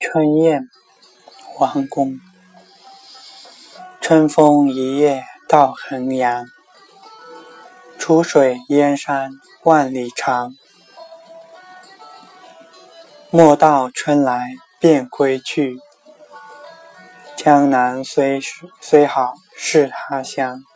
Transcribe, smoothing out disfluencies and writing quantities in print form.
春雁，王公。春风一夜到衡阳，楚水燕山万里长。莫道春来便归去，江南虽好是他乡。